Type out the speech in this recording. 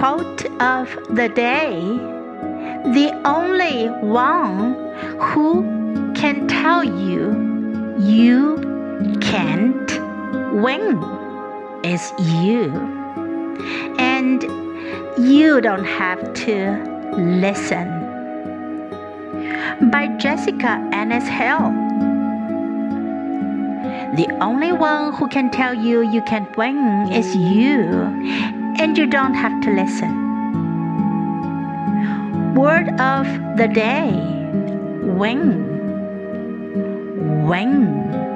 Quote of the day: the only one who can tell you you can't win is you. And you don't have to listen. By Jessica Ennis Hill. The only one who can tell you you can't win is you, and you don't have to listen. Word of the day: win. Win.